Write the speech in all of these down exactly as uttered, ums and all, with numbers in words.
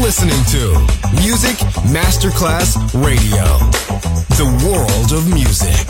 listening to Music Masterclass Radio, the world of music.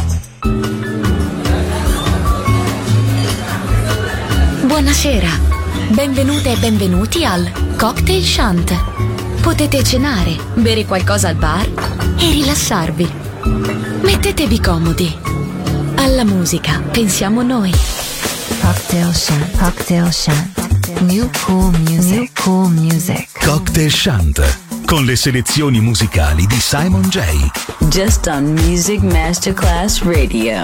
Buonasera, benvenute e benvenuti al Cocktail Shant. Potete cenare, bere qualcosa al bar e rilassarvi. Mettetevi comodi. Alla musica pensiamo noi. Cocktail Shant, Cocktail Shant. New cool music, New cool music. Cocktail Shant, con le selezioni musicali di Simon J. Just on Music Masterclass Radio.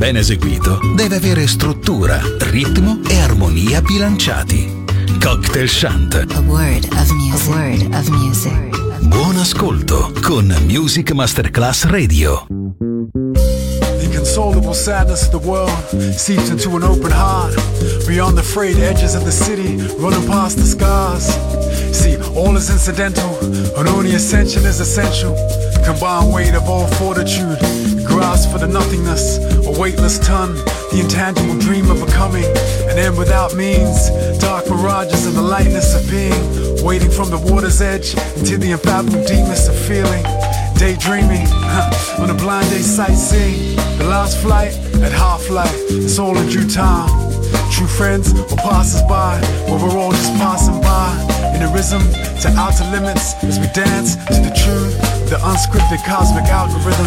ben eseguito deve avere struttura, ritmo e armonia bilanciati. Cocktail Chant. A word of music. A word of music. Buon ascolto con Music Masterclass Radio. The inconsolable sadness of the world seeps into an open heart. Beyond the frayed edges of the city, running past the scars. See, all is incidental, and only ascension is essential. The combined weight of all fortitude, grasp for the nothingness, a weightless ton, the intangible dream of becoming, an end without means, dark mirages of the lightness of being, waiting from the water's edge into the unfathomable deepness of feeling, daydreaming, huh, on a blind day sightseeing, the last flight at half-life, it's all in due time. True friends or passers-by, where we're all just passing by, in a rhythm to outer limits as we dance to the truth, the unscripted cosmic algorithm.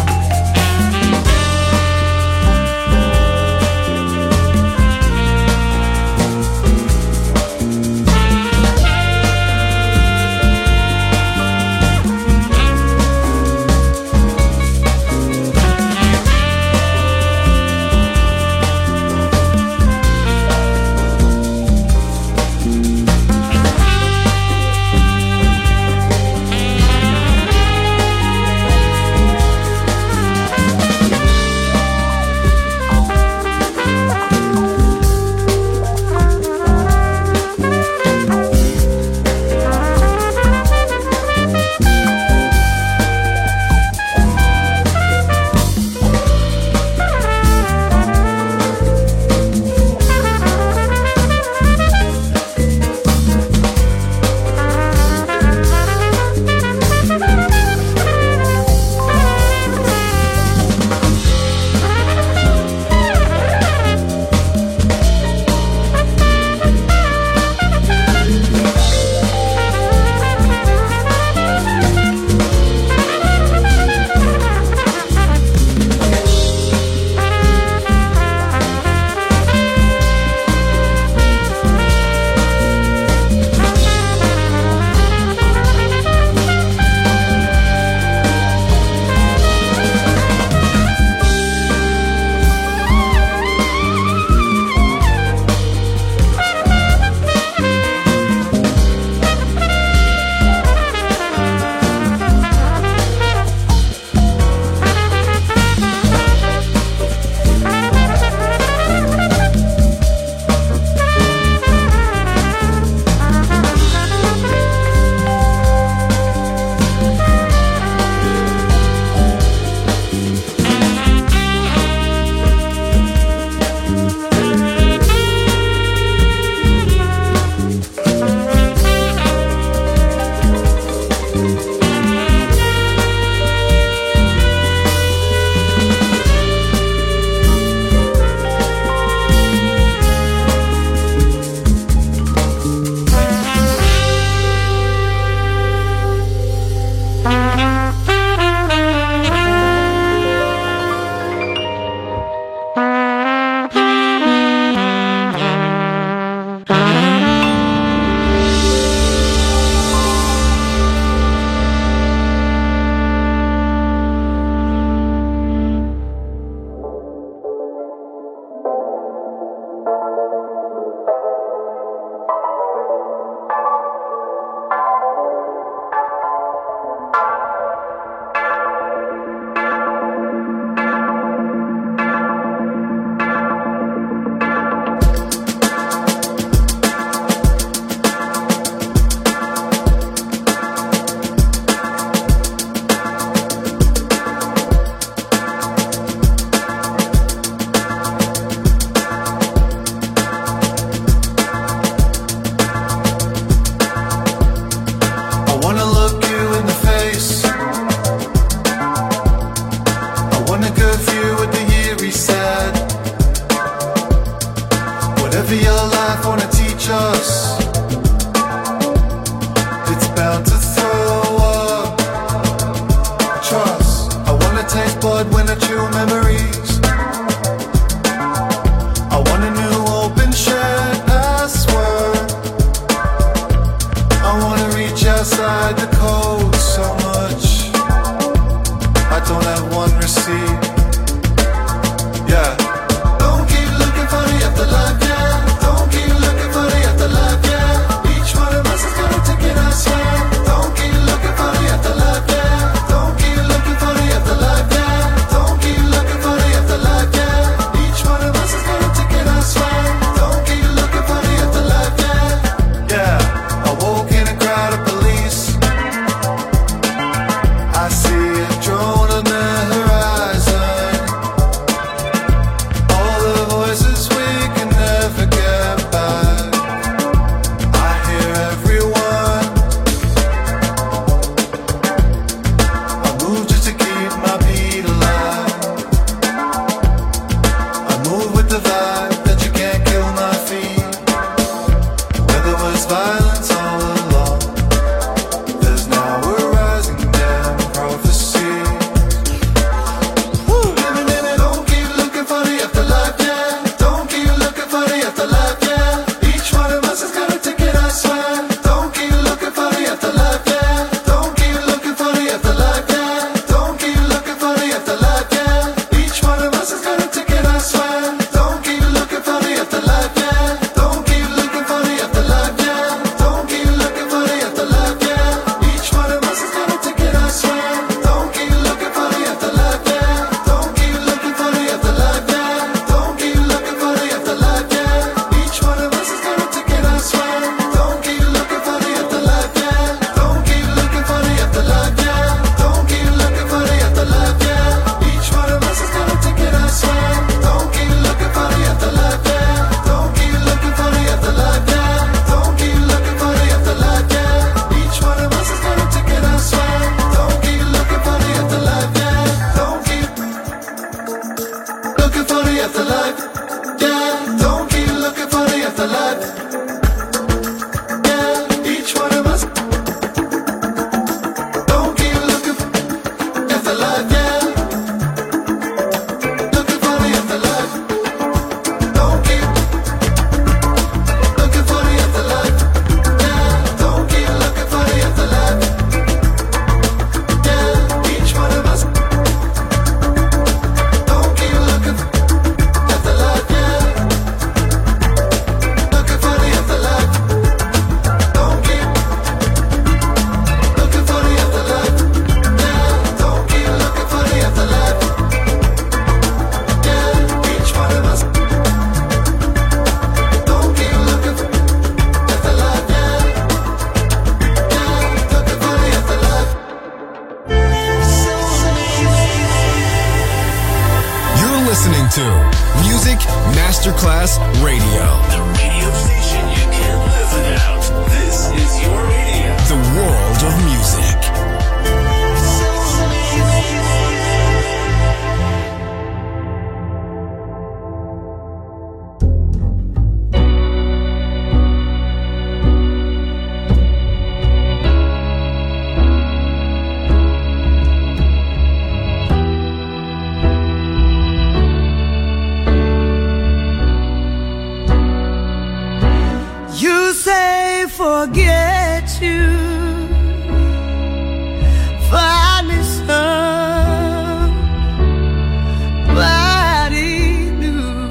Masterclass Radio. The radio station you can't live without. This is your radio. The world of music. Forget you, find me somebody new.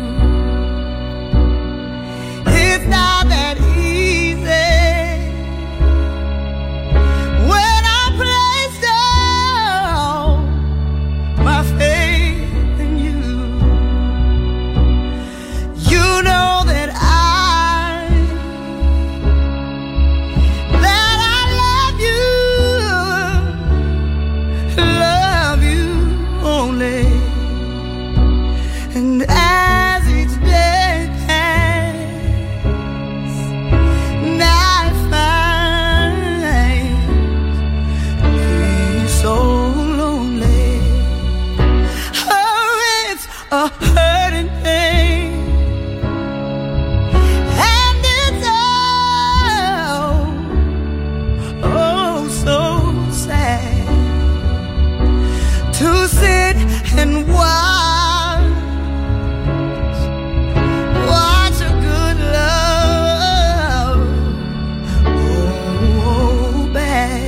It's not that easy when I place down my faith in you. You know that I and watch, watch a good love go bad.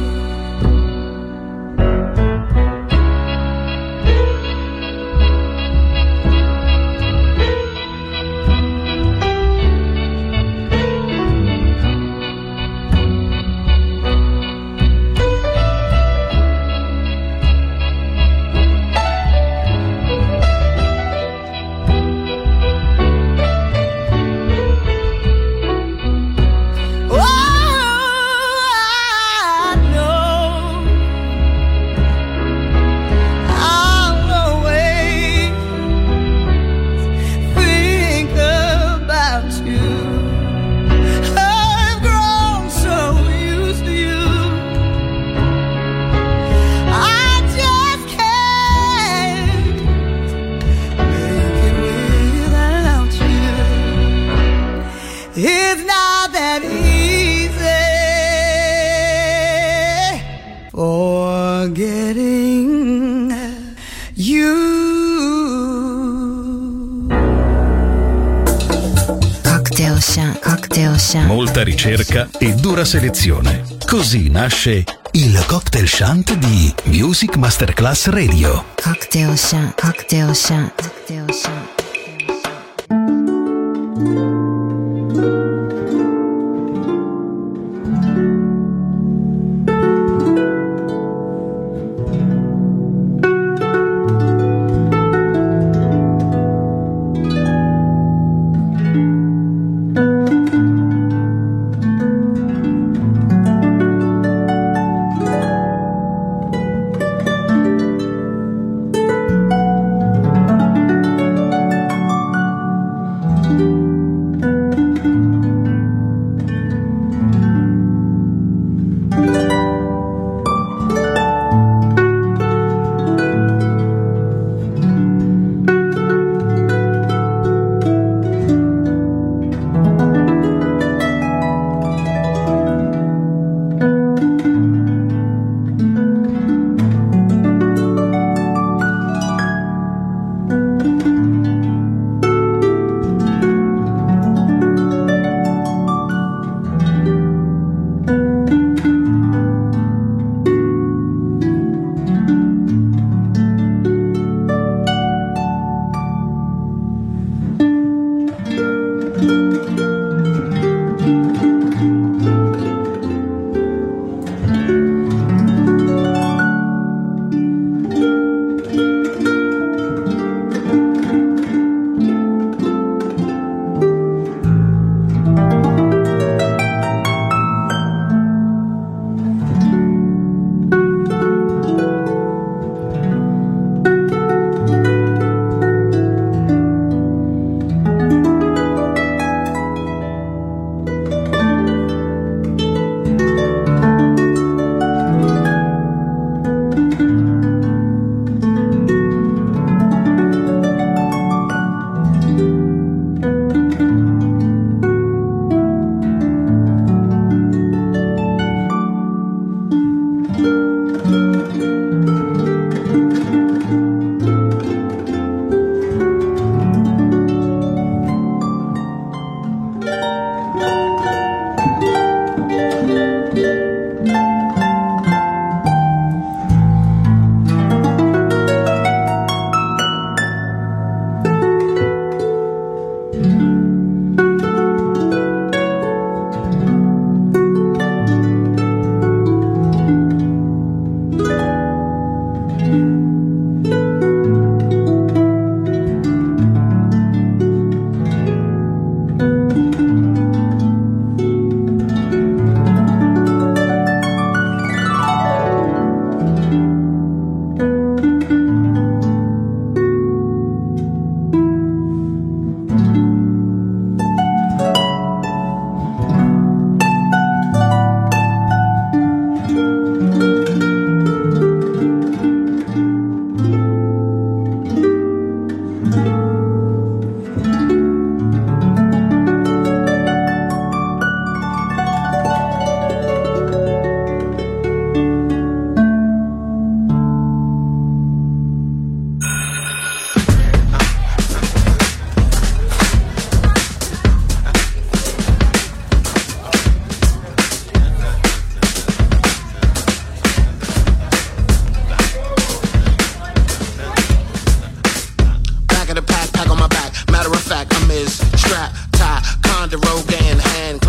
It's not that easy forgetting you. Cocktail Chant, Cocktail Chant. Molta ricerca e dura selezione. Così nasce il Cocktail Chant di Music Masterclass Radio. Cocktail Chant, Cocktail Chant, Cocktail Chant.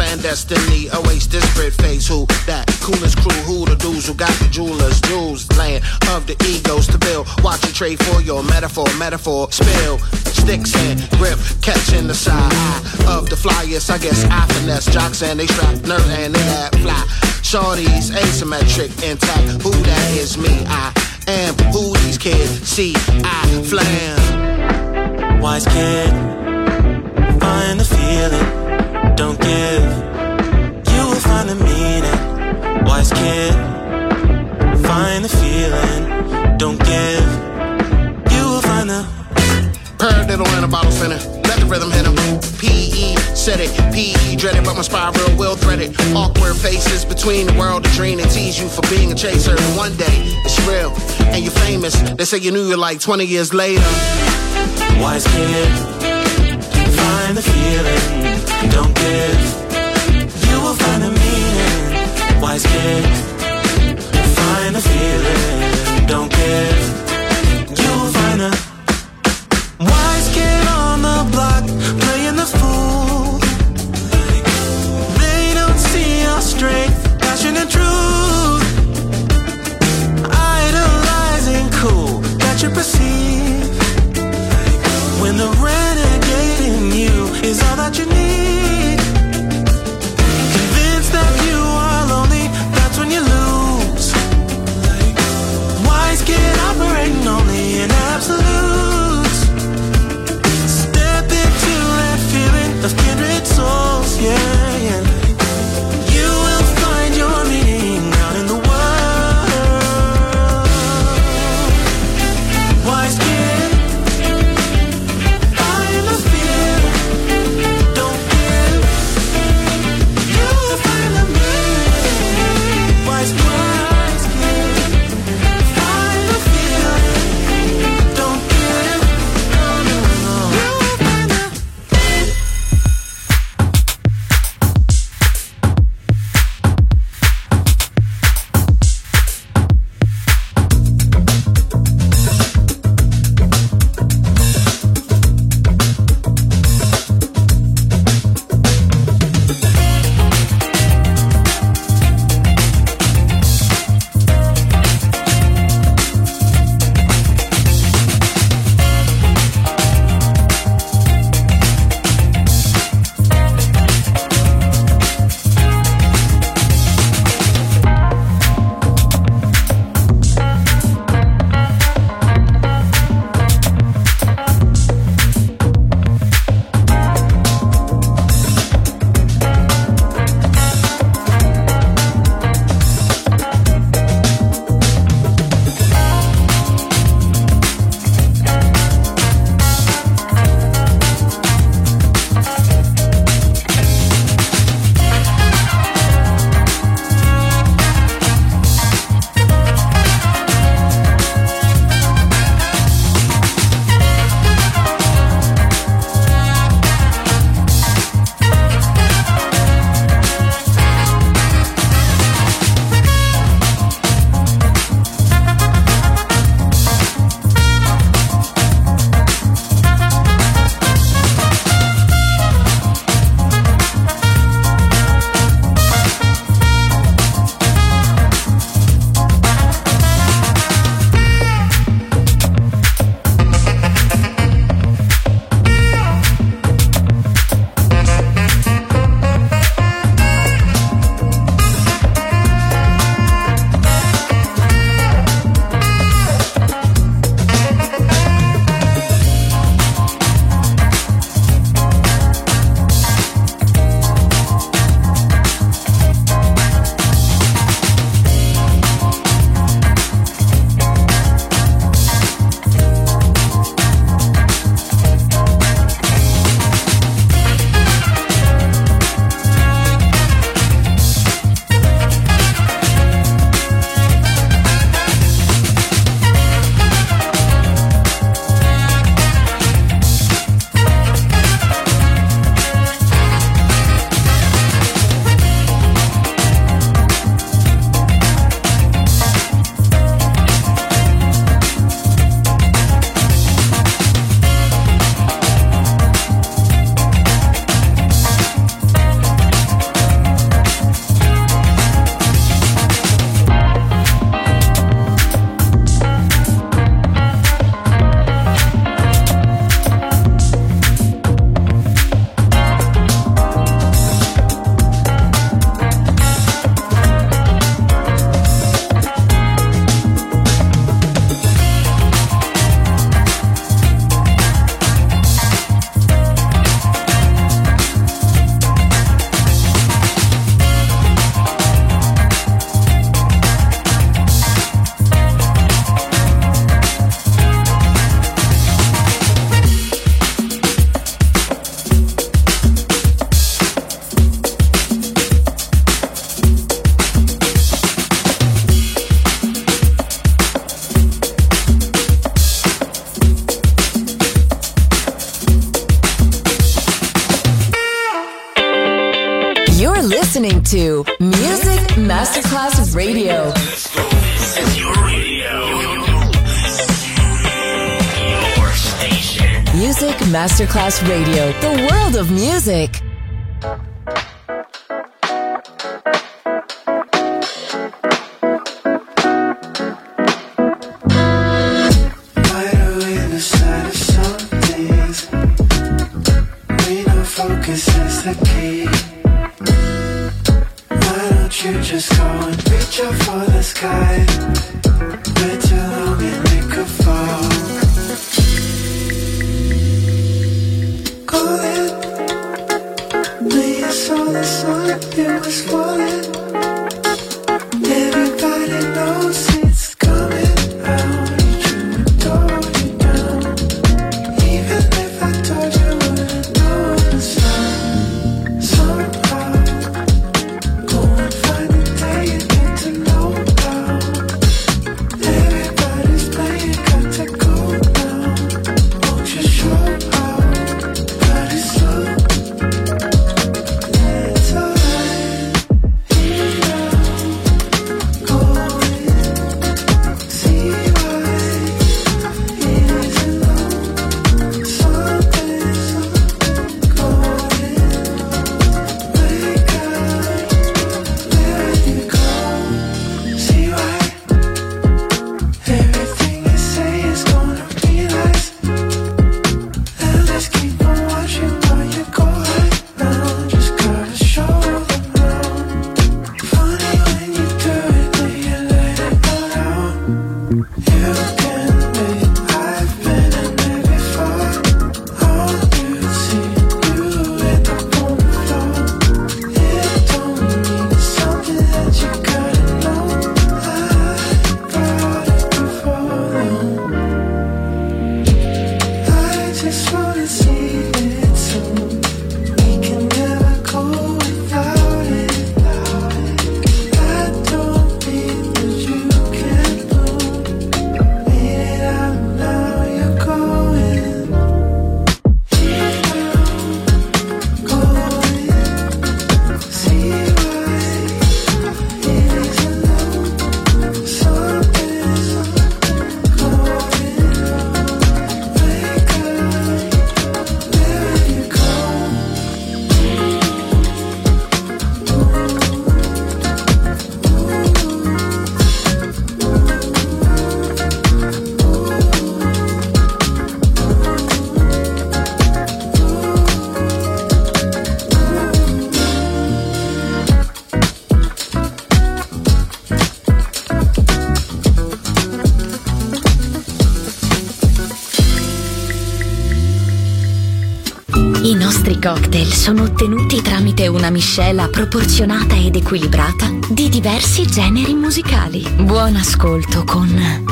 clandestiny awaits this Brit face. Who that coolest crew? Who the dudes who got the jewelers? Jewels, land of the egos to build. Watch you trade for your metaphor, metaphor. Spill, sticks and grip, catching the side of the flyest. I guess I finesse jocks and they strap nerve and they act fly. Shorties asymmetric, intact. Who that is me? I am who these kids see. I flam. Wise kid, find the feeling, don't give. You will find the meaning. Wise kid, find the feeling, don't give. You will find the Purr diddle in a bottle center. Let the rhythm hit him. P E said it. P E dreaded, but my spiral will thread it. Awkward faces between the world and dream and tease you for being a chaser. And one day it's real and you're famous. They say you knew you like twenty years later. Wise kid, find the feeling, don't give. You will find the meaning. Wise kid, find the feeling, don't give. You will find the wise kid on the block, playing the fool. They don't see your strength, passion and truth. Idolizing cool that you perceive. When the renegade in you is all that you need. Convinced that you are lonely, that's when you lose. Wise kid operating only in absolutes. Step into that feeling of kindred souls, yeah, yeah. You will find your meaning out in the world. Wise You're listening to Music Masterclass Radio. This is your radio. Your station. Music Masterclass Radio. The world of music. Focus is the key. Why don't you just go and reach up for the sky? Way too long and it could fall. Calling, when you saw the sun, it was falling. Everybody knows it's coming out. You adore you down. Even if I told you. I nostri cocktail sono ottenuti tramite una miscela proporzionata ed equilibrata di diversi generi musicali. Buon ascolto con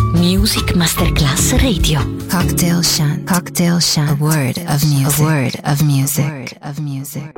Music Masterclass Radio. Cocktail Shant. Cocktail Shant. A word of music. A word of music. A word of music.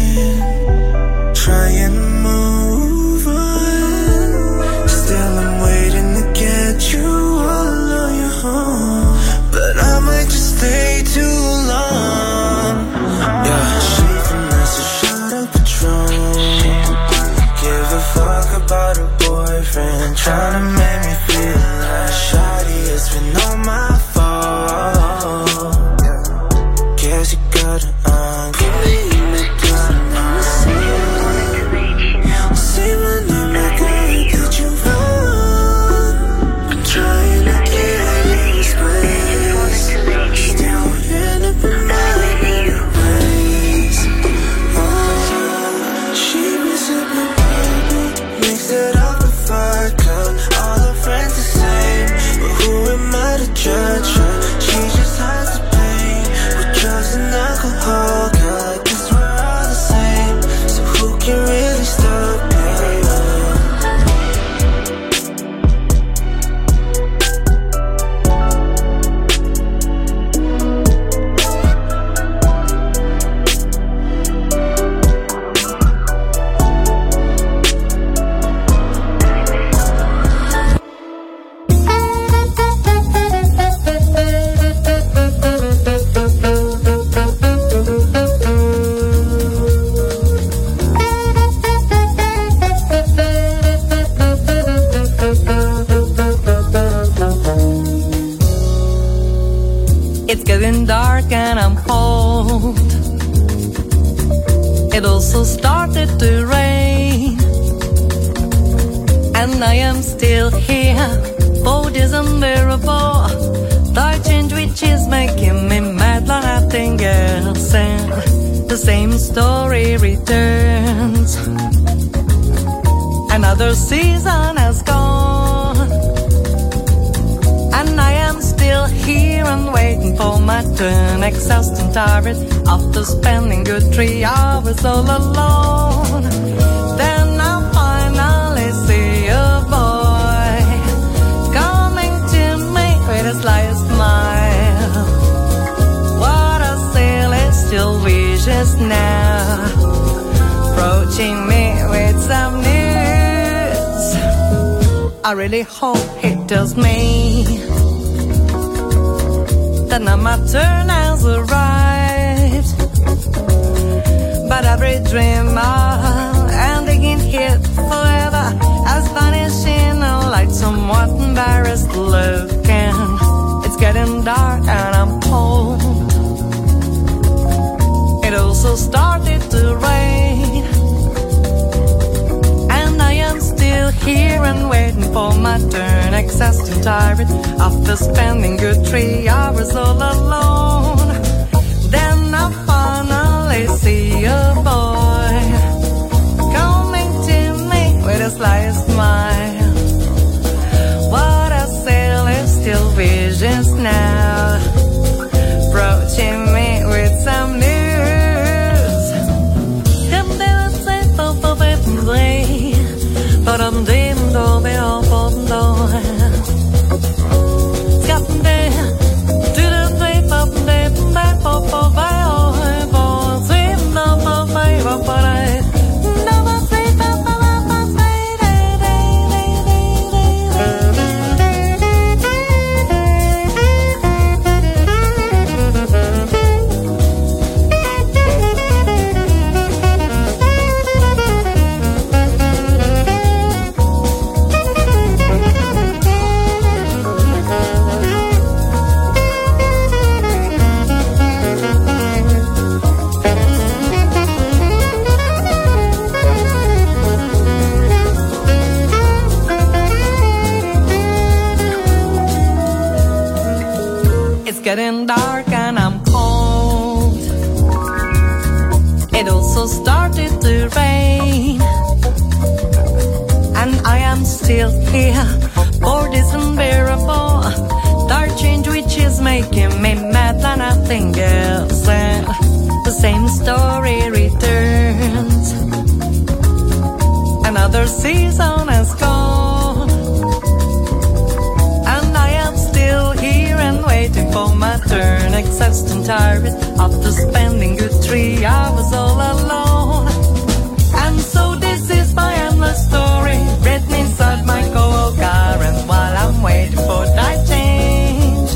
Trying to move on, still I'm waiting. made me feel like shawty, it's been all my fault. Guess you gotta undo. Say my name like I did you wrong. I'm trying to get in this place. Still end up in my better ways. Oh, she was sipping bubble, mix it up with vodka. All her friends the same, but who am I to judge her? She just hides the pain with drugs and alcohol. Girl, I guess we're all the same, so who can really stop it? It's getting dark and I'm cold. It also started to rain, and I am still here for this unbearable dark change which is making me mad like nothing else. And the same story returns. Another season has gone, and I am still here and waiting for my turn, exhausted and tired after spending good three hours all alone. Then I finally see a boy coming to me with a sly smile. What I see is still vicious now, approaching me with some news. I really hope he tells me that now my turn has arrived. But every dream I'm ending here forever has vanished in a light, somewhat embarrassed looking. It's getting dark and I'm cold. It also started to rain, and I am still here and waiting for my turn, exhausted and tired after spending good three hours all alone. Then I finally see a boy coming to me with a sly smile. What I sail is still visions now, approaching me with some news. But I'm dim, don't be off on the Scotland, to the place of the back of a violin, for swim up a favor, but I never say that. Getting dark and I'm cold. It also started to rain, and I am still here for this unbearable dark change which is making me mad like nothing else. And the same story returns. Another season has gone, and I am still here and waiting for my turn, exhausted and tired after spending good three hours all alone. And so this is my endless story, written inside my cold car, and while I'm waiting for that change,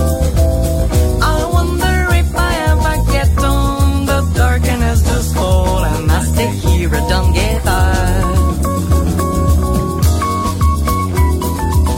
I wonder if I ever get on the darkness just fall, and I stay here and don't get out.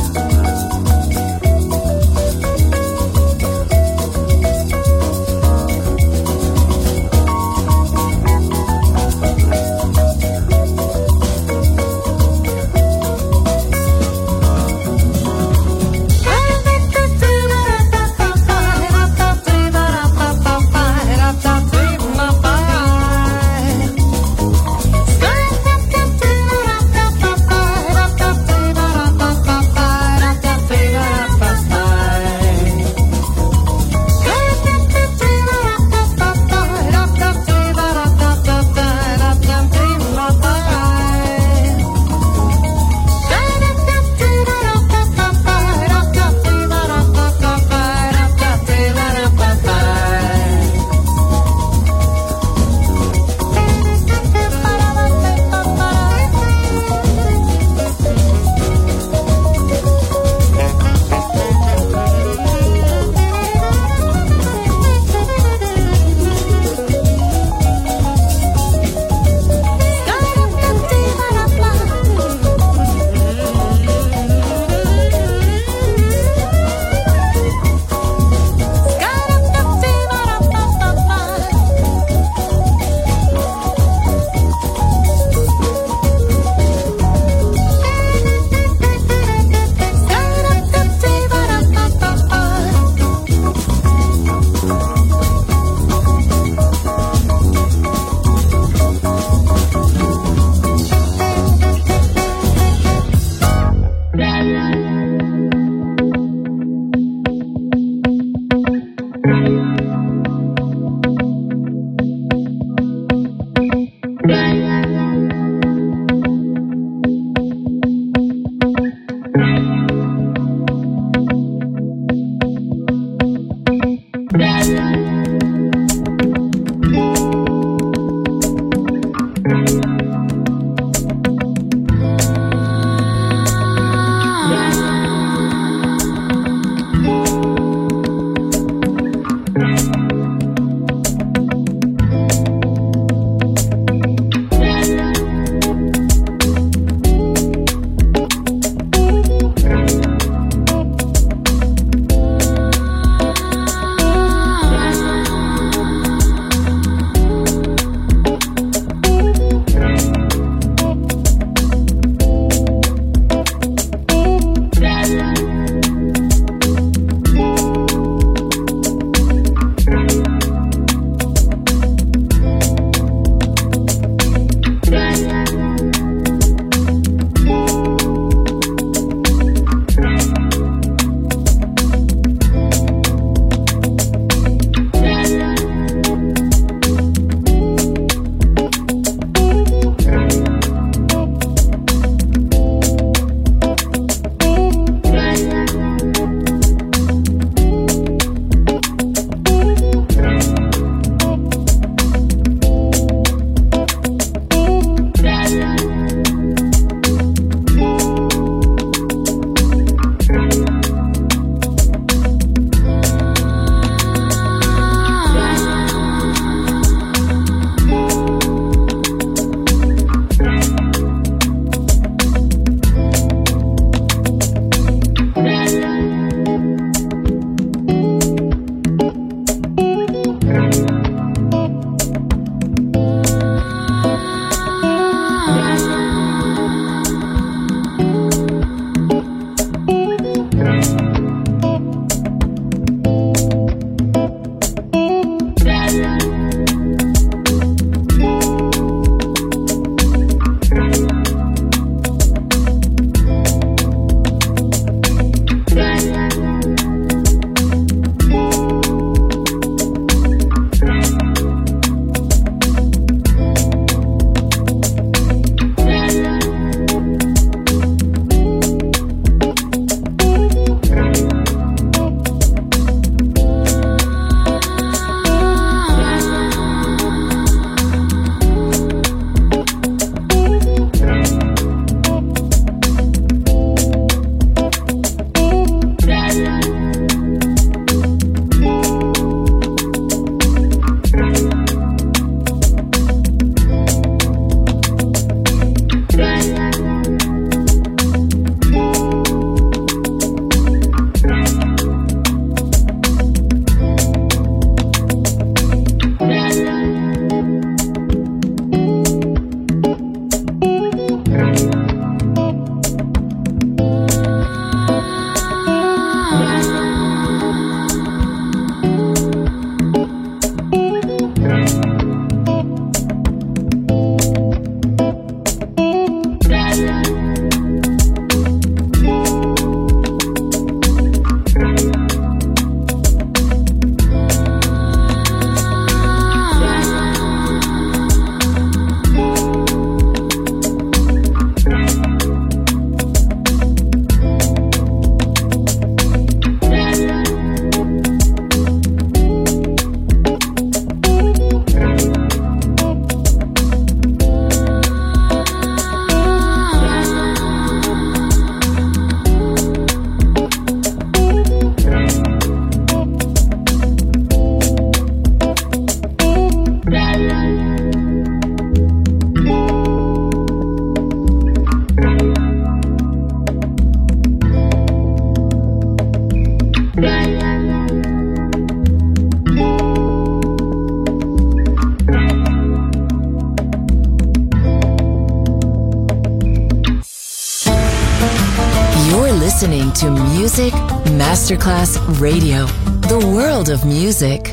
listening to Music Masterclass Radio, the world of music.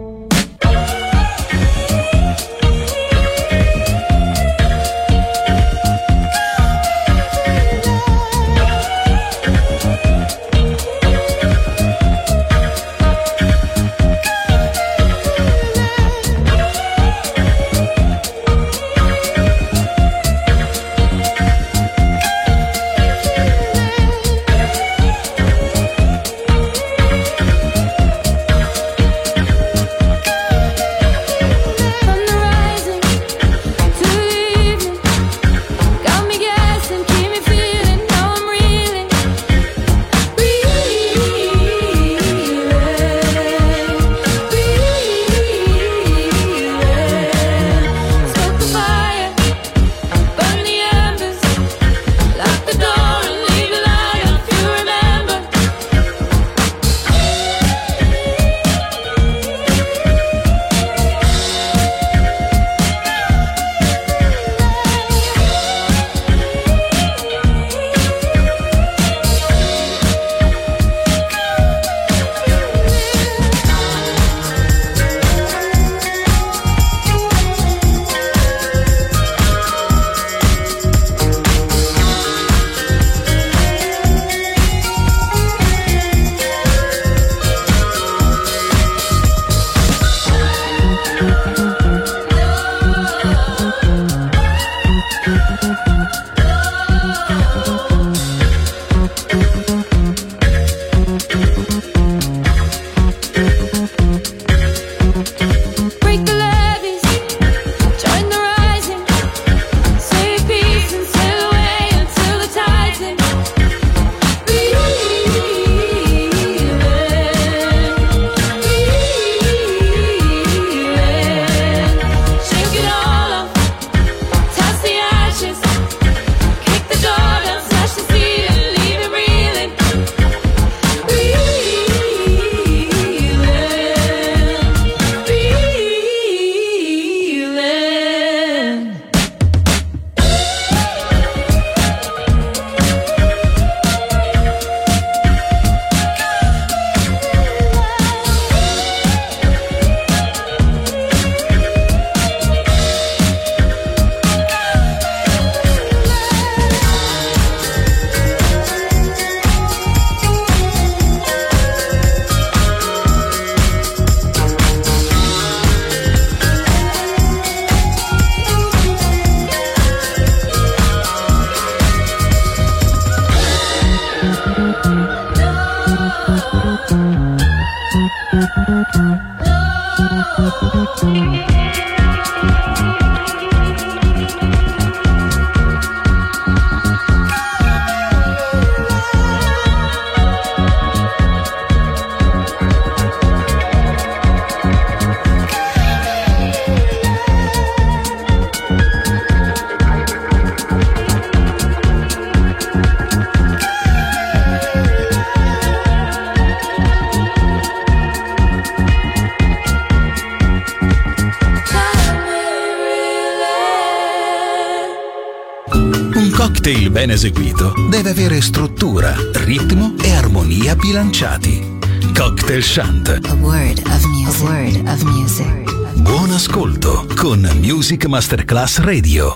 cocktail ben eseguito deve avere struttura, ritmo e armonia bilanciati. Cocktail Chant. A word of music. A word of music. Buon ascolto con Music Masterclass Radio.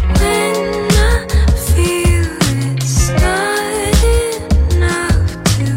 To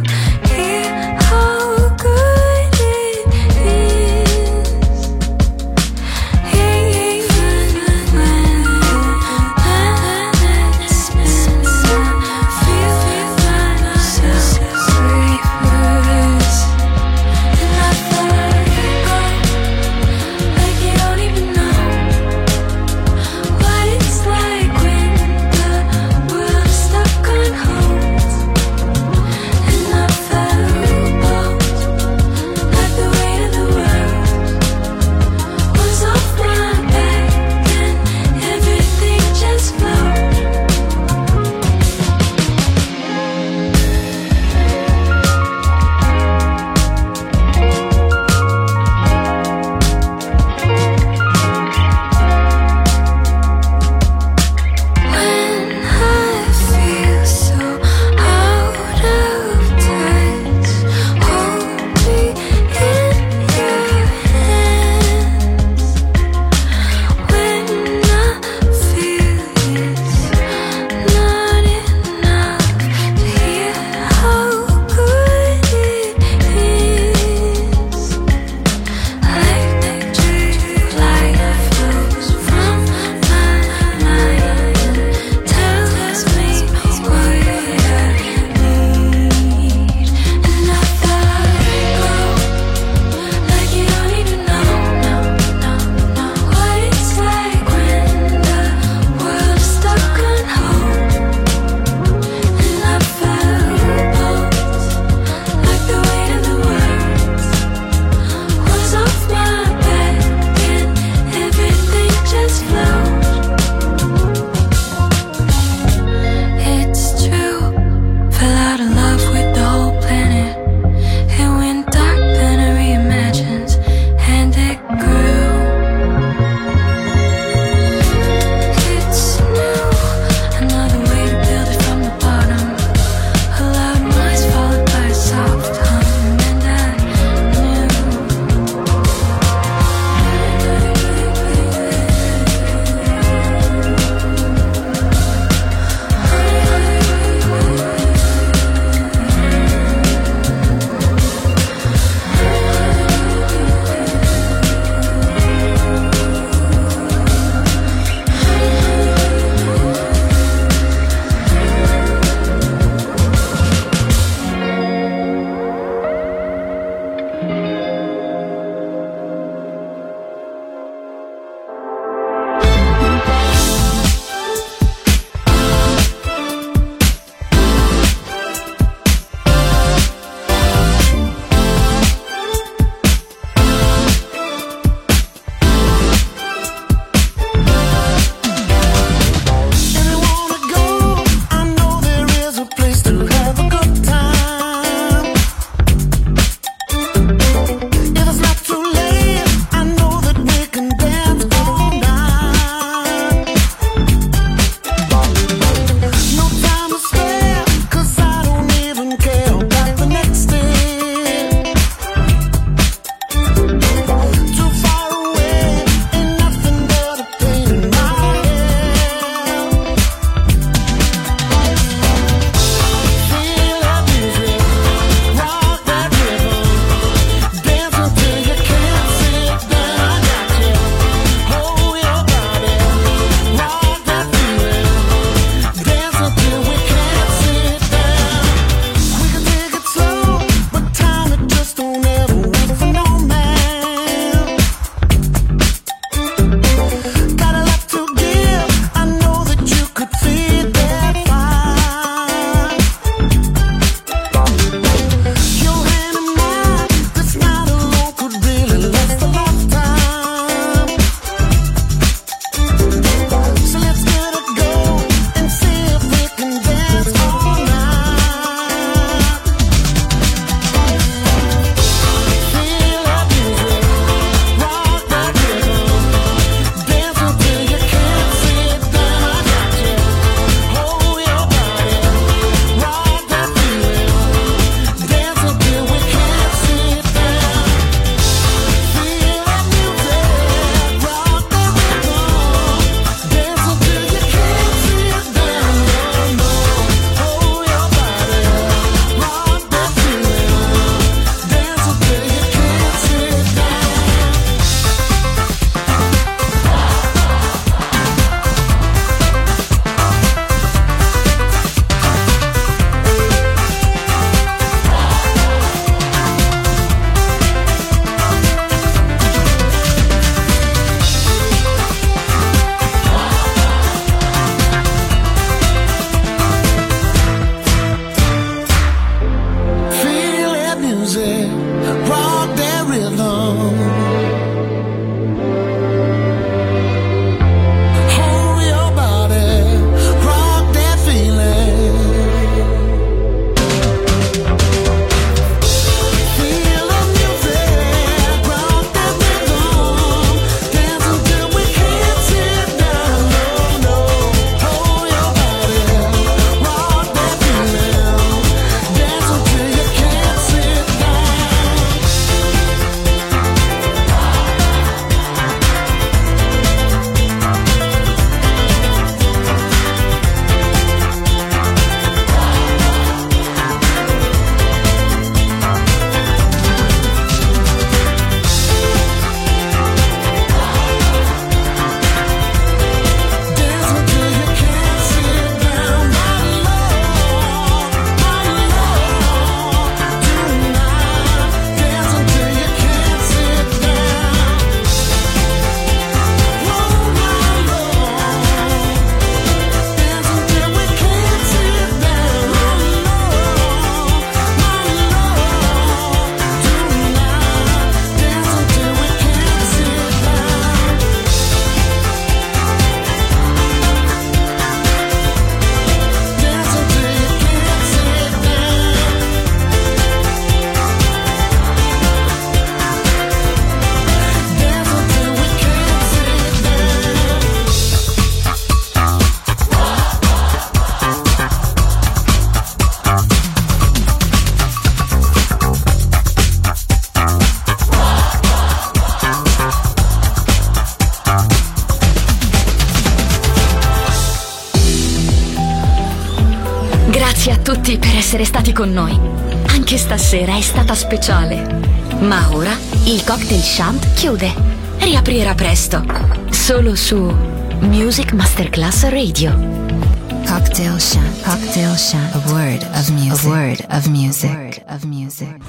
Grazie a tutti per essere stati con noi. Anche stasera è stata speciale. Ma ora il Cocktail Shant chiude. Riaprirà presto. Solo su Music Masterclass Radio. Cocktail Shant. Cocktail Shant. A word of music. A word of music. A word of music.